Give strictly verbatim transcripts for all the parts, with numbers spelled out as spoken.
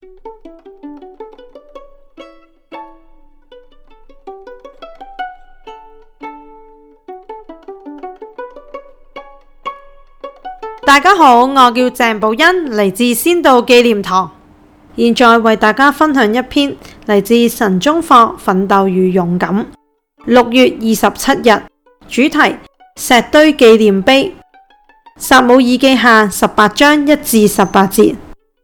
大家好，我叫鄭寶欣，嚟自先道紀念堂，現在為大家分享一篇嚟自神中課《奮鬥與勇敢》，六月二十七日，主題石堆紀念碑，撒母耳記下十八章一至十八節。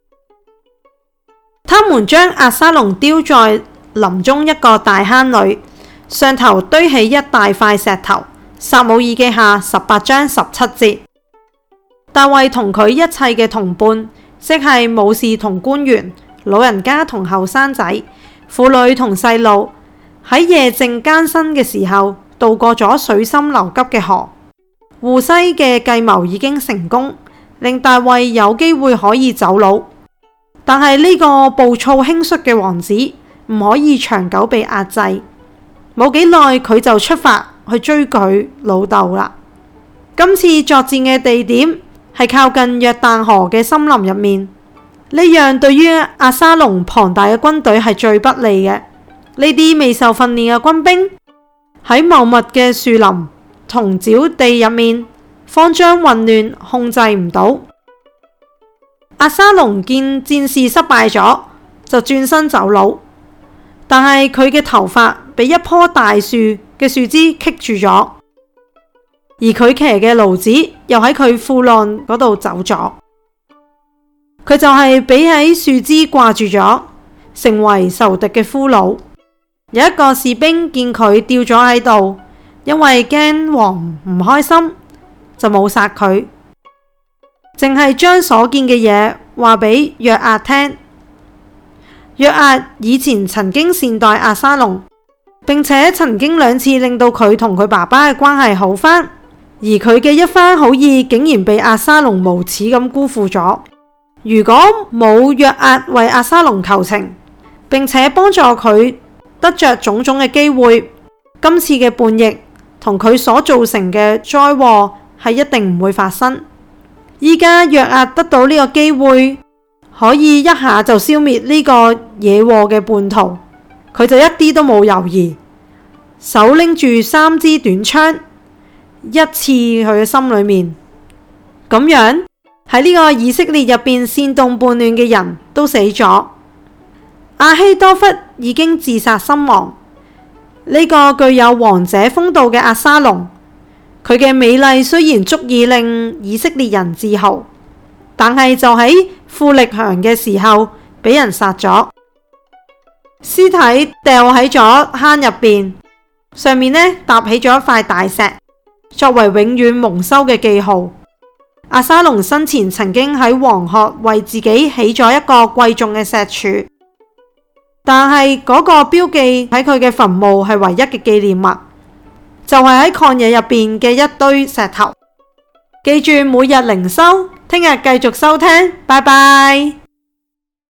他們將押沙龍丟在林中一個大坑裏，上頭堆起一大塊石頭。撒母耳記下十八章十七節。大衛同佢一切嘅同伴，即係武士同官員、老人家同後生仔、婦女同細路，喺夜靜艱辛嘅時候，渡過咗水深流急嘅河。戶篩嘅計謀已經成功，令大衛有機會可以走佬。但係呢個暴躁輕率嘅王子唔可以長久被壓制，冇幾耐佢就出發去追佢老豆啦。今次作戰嘅地點係靠近約旦河嘅森林入面，呢樣對於押沙龍龐大嘅軍隊係最不利嘅。呢啲未受訓練嘅軍兵喺茂密嘅樹林同沼地入面，慌張混亂，控制唔到。押沙龍見戰事失敗咗，就轉身走佬，但係佢嘅頭髮被一棵大樹嘅樹枝棘住咗，而佢騎嘅驢子又喺佢褲浪嗰度走咗，佢就係俾喺樹枝掛住咗，成為仇敵嘅俘虜。有一個士兵見佢吊咗喺度，因為驚王唔開心，就冇殺佢，淨係將所見嘅嘢話俾約押聽。約押以前曾經善待押沙龍，並且曾經兩次令到佢同佢爸爸嘅關係好返，而佢嘅一番好意竟然被押沙龍無恥咁辜負咗。如果冇約押為押沙龍求情，並且幫助佢得着種種嘅機會，今次嘅叛逆同佢所造成嘅災禍係一定唔會發生。依家約押得到呢個機會，可以一下就消滅呢個惹禍嘅叛徒，佢就一啲都冇猶豫，手拎住三支短槍，一刺佢嘅心裏面。咁樣喺呢個以色列入邊煽動叛亂嘅人都死咗。亞希多弗已經自殺身亡。呢、這個具有王者風度嘅押沙龍，佢嘅美麗雖然足以令以色列人自豪，但係就喺富力強嘅時候俾人殺咗，屍體掉喺咗坑入邊，上面呢搭起咗一塊大石，作為永遠蒙羞嘅記號。押沙龍生前曾經喺黃鶴為自己起咗一個貴重嘅石柱，但係嗰個標記喺佢嘅墳墓係唯一嘅紀念物，就係喺曠野入邊嘅一堆石頭。記住每日靈修，聽日繼續收聽，拜拜。